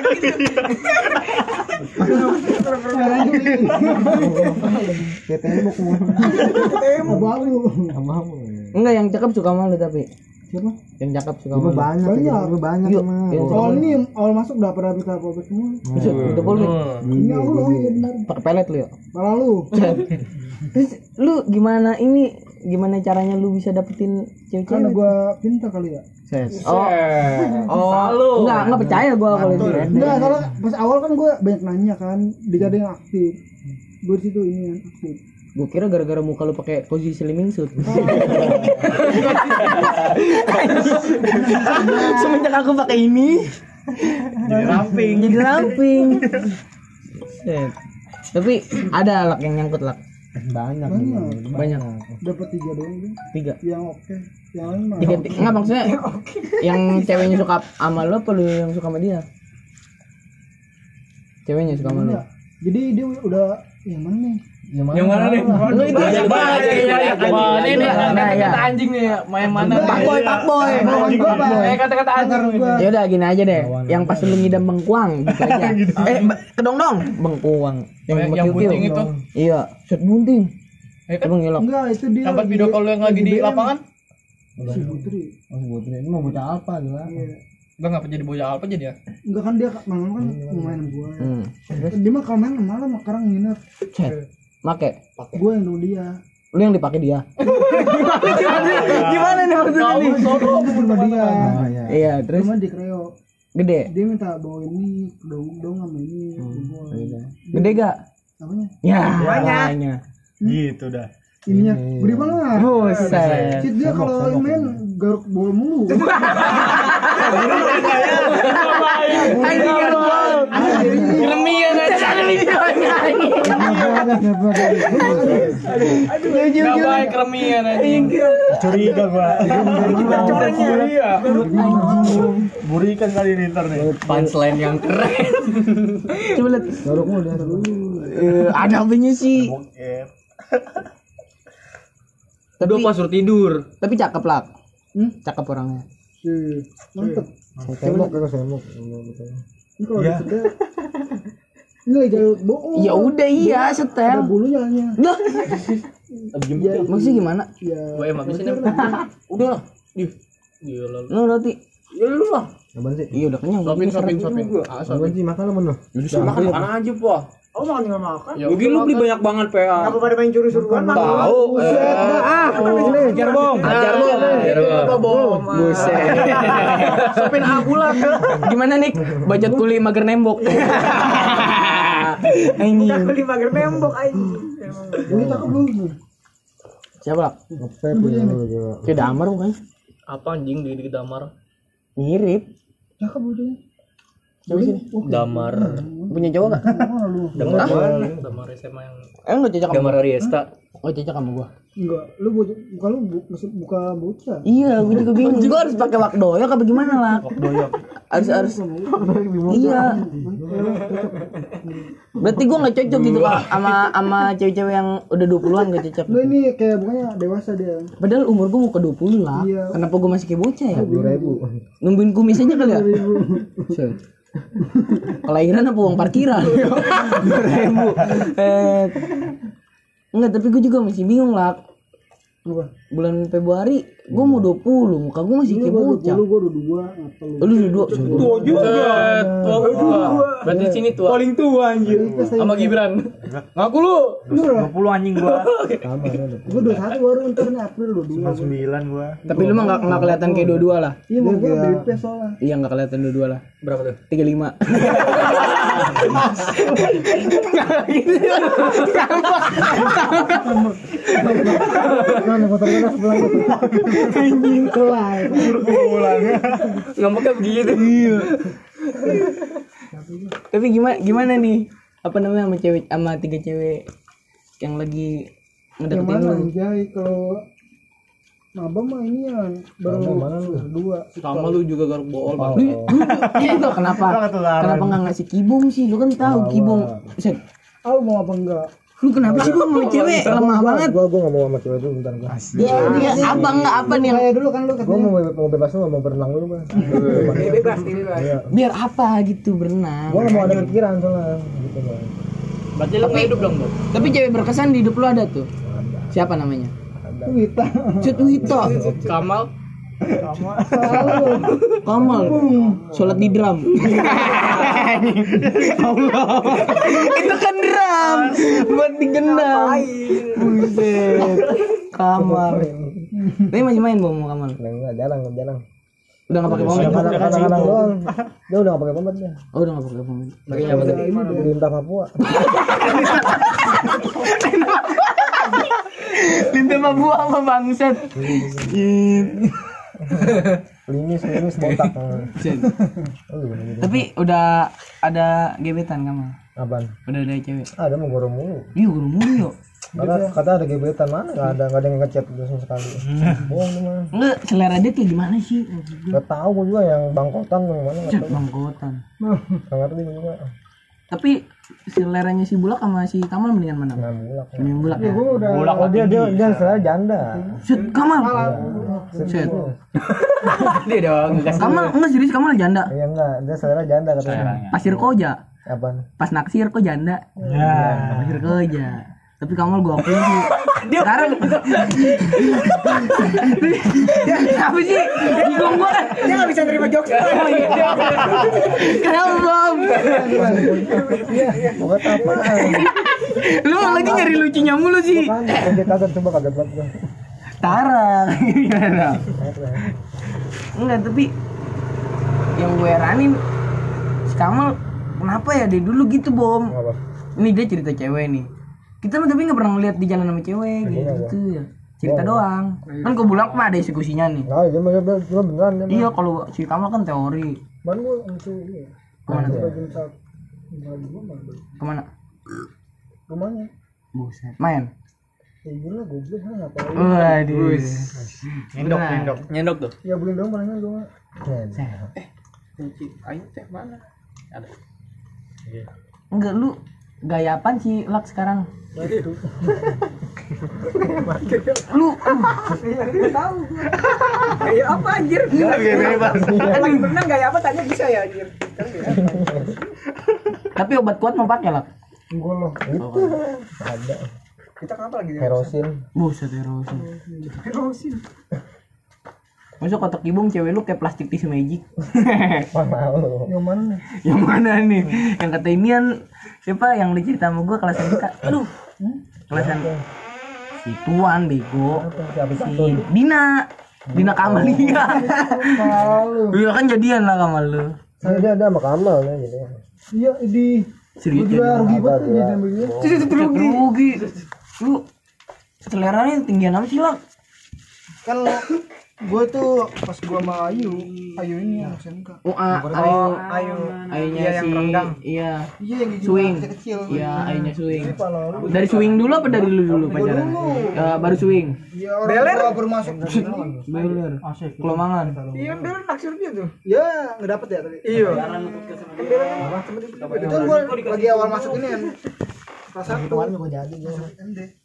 Tembok mau. Abu-abu. Enggak, yang cakep suka malu tapi. Siapa? Yang cakep suka malu. Banyak Yuk, mah. yang Soal ini awal masuk udah pernah minta polpek semua. Itu polpek. Ini aku loh, ya benar. Pakai pelet lu ya. Malah lu. Terus lu gimana caranya lu bisa dapetin cewek-cewek? Karena gua pintar kali ya. Oh, enggak percaya gua kalau itu. Enggak, soalnya pas awal kan gua banyak nanya kan, dikada yang aktif. Gua di situ ini yang aktif. Gua kira gara-gara muka lu pakai posisi slimming suit. Semenjak aku pakai ini jadi ramping. Set. Tapi ada lak yang nyangkut lak. Banyak. Dapat 3 doang deh. 3. Yang oke. Yang lain mah. Enggak maksudnya yang ceweknya suka sama lu apa lu yang suka sama dia? Ceweknya suka sama lu. Jadi dia udah yang mana nih? Yang mana nih? Lu itu aja Ini kata-kata anjing nih, main mana? Pak boy. Kata-kata anjing. Ya udah gini aja deh. Yang pas lu ngidam bengkuang gitu aja. Kedong bengkuang. Yang bunting itu. Iya, shot bunting. Emang ngelok. Enggak, itu dia. Sampai video call yang lagi di lapangan. Si Putri. Ini mau bocah apa juga? Enggak jadi bocah apa jadi ya? Enggak kan dia malam kan mau main sama gua. Dia mah kalau main malam sekarang nginep. Make. Gua yang dulu dia. Lu yang dipakai dia. Gimana nih maksudnya nih? Gua sama dia. Iya, terus Cuma di Kreo. gede. Dia minta bawa ini, dong sama ini. Gede gak? Apanya? Ya, banyak. Gitu dah. Ininya gede banget. Buset. Cid dia kalau main garuk bola mulu. Kremian aja. Enggak baik kremian aja. Curiga gua. Iya. Burikan kali ini ntar nih. Punchline yang keren. Coba lihat. Garukmu udah dulu. Ada apanya sih? Tapi pas suruh tidur. Tapi cakep lah. Cakep orangnya. Mantep. Tembok. Ini kalau diseda. Enggak jauh bohong. Ya udah iya Ada setel. bulunya hanya. Lah. Maksudnya gimana? Ya. Gue emang habisin udah lah. Gila lu. Lu roti. Ya lu lah. Apaan sih? Iya udah kenyang. Sopin. Apaan sih makan lu? Makan aja, Po. Aku makan tinggal makan. Ya mungkin lu beli banyak banget, PA. Apa pada main curi-curuan makan? Tahu. Ajar bom. Buset. Sopin abulat. Gimana nih? Bacot kuli mager nembok. Anjing. Kuli mager nembok anjing. Ini cakep lu. Siapa lah? Ngepep ya lu gila. Kayak Damar bukan? Apa anjing di Damar? Mirip. Cakep lu. Coba sini. Damar. Punya cowok enggak? Damar SMA yang Enggak cocok sama Damar gua. Riesta. Oh, cocok sama gua. Enggak, lu buka bocah. Iya, gua juga bingung. Gua harus pakai wakdoyok apa gimana lah? Wakdoyok. Harus. Iya. Berarti gua enggak cocok gitu Kak sama cewek-cewek yang udah 20-an enggak cocok. Lu ini kayak bukannya dewasa dia. Padahal umur gua mau ke 20 lah. Iya. Kenapa gua masih kayak bocah ya? 10.000. Nungguin kumis aja kali ya? Set. Kelahiran apa uang parkiran? 2.000. Enggak, tapi gue juga masih bingung lah. Apa? Bulan Februari gue mau 20, muka gue masih kayak bocah. Lu gua udah 2, ngapa lu? Lu udah 2. Tua juga. Berarti di sini tua. Paling tua anjir. Sama Gibran. Ngaku lu. 20 anjing gua. Gua 21 baru ntar nih April lu 2. 9 gua. Tapi lu mah enggak kelihatan kayak 22 lah. Iya, mau gua BP soalnya. Iya, enggak kelihatan 22 lah. Berapa tuh? 35. Mana motor gua sebelah anjing kelai. Ngomongnya begitu. Iya. Tapi gimana nih? Apa namanya sama cewek sama 3 cewek yang lagi Yang ngedeketin mana lu? anjay kalau Maba mah ini ya baru dua. Sama lu juga garuk bool. Iya tuh kenapa? Kenapa enggak ngasih kibung sih? Lu kan tahu kibung. Set. Aku mau apa enggak? Lu kenapa sih gua mau cewek lemah banget? Gua enggak mau sama cewek dulu bentar gua. Iya, apa nih? Kayak dulu kan lu Gua katanya. mau bebas dulu, mau berenang dulu, Bang. Bebas. Iya. Biar apa gitu berenang. Gua enggak mau ada pikiran soalnya gitu, Bang. Berarti lu nggak hidup dong, Bang. Tapi cewek berkesan di hidup lu ada tuh. Siapa namanya? Wita. Cut Wito. Kamal. Kamal. Sholat di drum. Itu kan drum buat digendam. Buset. Kamal. Tapi masih main Bom Kamal. Enggak, jarang. Udah enggak pakai pomade. Kadang-kadang doang. Dia udah enggak pakai pomade dia. Oh, udah enggak pakai pomade. Makanya apa tuh? Di Lintah Papua. Linda Papua apa bangsat? Limis botak. Tapi udah ada gebetan kamu? Apaan? Udah ada cewek? Ada mau goro mulu. Iya, guru mulu yuk. Kata ada gebetan mana? Enggak ada yang ngechat terus sama sekali. Bohong lu mah. Enggak, selera dia kayak gimana sih? Enggak tahu gua juga yang bangkotan yang mana enggak Cek tahu. bangkotan. Enggak ngerti gua juga. Tapi seleranya si Bulak sama si Kamal mendingan mana? Enggak mulak. Mendingan Bulak ya? Gua udah Oh, dia selera janda. Set Kamal. Set. Dia dong, ngegas. Kamal enggak serius Kamal janda. Iya enggak, dia selera janda katanya. Pasir koja. Apaan? Pas naksir kok janda. Ya. Pasir koja. Tapi Kamal gua akuin sih. Sekarang apa sih? Bingung gua. Dia nggak bisa nerima jokes. Kenapa Bom? Bukan apa? Lu lagi nyari lucunya mulu sih. Kan kaget coba kaget banget gua. Tarang. Gimana? Enggak, tapi yang gue heranin si Kamal kenapa ya dia dulu gitu Bom. Apa? Ini dia cerita cewek nih. Kita mah tapi nggak pernah ngeliat di jalan sama cewek gitu ya. Cerita doang. Kan gue bilang mah ada eksekusinya nih. Nah, dia mah beneran dia. Iya, kalau si Kamal kan teori. Man gua itu iya. Kemana tuh? Kemana? Rumahnya. Buset. Main. Ya gila goblok kan ngapain? Waduh. Nyendok tuh. Ya beli dong barangnya gua. Ayo teh mana? Ada. Enggak, lu gaya apaan sih Lak sekarang? Lu Tahu. Kayak apa anjir? Lagi berenang kayak apa tanya bisa ya anjir. tapi obat kuat mau pakai Lak? Gua loh. Itu ada. Kita kenapa lagi? Herosin. Buset erosin. Masa kotak ibung cewek lu kayak plastik tisu magic. Mana lu? yang mana nih? Yang mana nih? Yang kata inian siapa yang dicerita sama gua kelasan kita? Aduh. Kelasan si Tuan bego. Siapa Si Dina Kamalia. Iya kan jadian lah sama lu. Dia ada sama Kamal ya jadi. Iya di Serius juga jadian. rugi banget ya jadi ambil dia. Rugi. Lu seleranya tinggian apa sih Lak? Kan gue tuh pas gua sama Ayu ini yang SMK. Oh, Ayunya Iya, yang si renggang. Iya. Iya yang gigi Swing. kecil. Iya, ayunya swing. Dari swing dulu apa dari lu dulu pacaran? Baru swing. Iya orang tua baru masuk. Beler. Kelomangan. Iya, dia naksir dia tuh. Ya nggak dapet ya tadi. Iya. Itu gua lagi awal masuk ini kan. Kelas 1 Kemarin gua jadi gua. MD.